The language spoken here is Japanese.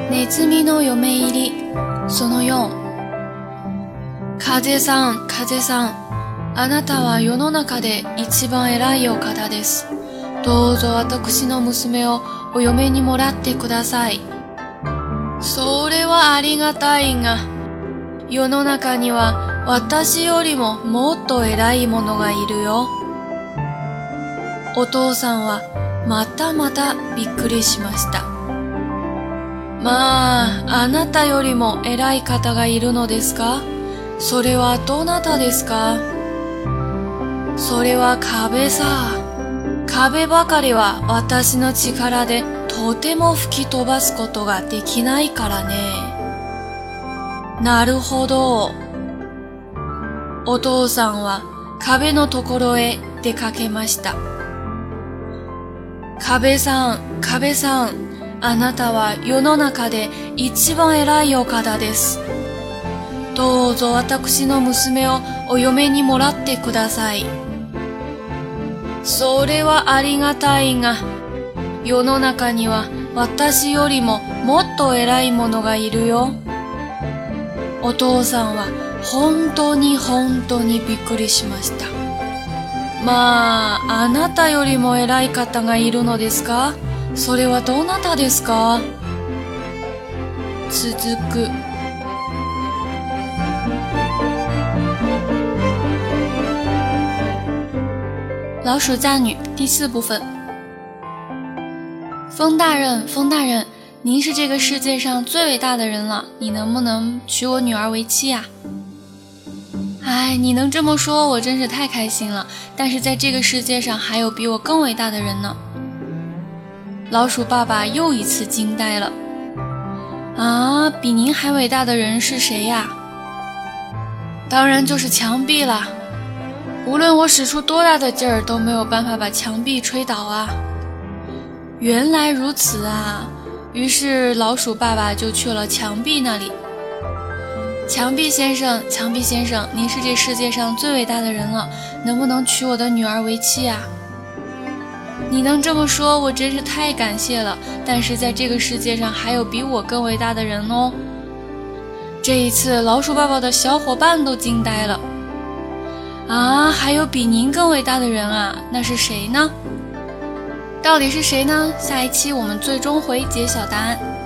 ネズミの嫁入りその4。風さん、風さん、あなたは世の中で一番偉いお方です。どうぞ私の娘をお嫁にもらってください。それはありがたいが、世の中には私よりももっと偉い者がいるよ。お父さんはまたびっくりしました。まあ、あなたよりも偉い方がいるのですか？それはどなたですか？それは壁さ。壁ばかりは私の力でとても吹き飛ばすことができないからね。なるほど。お父さんは壁のところへ出かけました。壁さん、壁さん、あなたは世の中で一番偉いお方です。どうぞ私の娘をお嫁にもらってください。それはありがたいが、世の中には私よりももっと偉い者がいるよ。お父さんは本当にびっくりしました。まあ、あなたよりも偉い方がいるのですか？それはどなたですか？続く。老鼠嫁女第4部分。风大人，风大人，您是这个世界上最伟大的人了，你能不能娶我女儿为妻啊？哎，你能这么说，我真是太开心了。但是在这个世界上还有比我更伟大的人呢。老鼠爸爸又一次惊呆了。啊，比您还伟大的人是谁呀？当然就是墙壁啦。无论我使出多大的劲儿，都没有办法把墙壁吹倒啊。原来如此啊。于是老鼠爸爸就去了墙壁那里。墙壁先生，墙壁先生，您是这世界上最伟大的人了，能不能娶我的女儿为妻啊？你能这么说，我真是太感谢了。但是在这个世界上还有比我更伟大的人哦。这一次老鼠爸爸的小伙伴都惊呆了。啊，还有比您更伟大的人啊？那是谁呢？到底是谁呢？下一期我们最终回揭晓答案。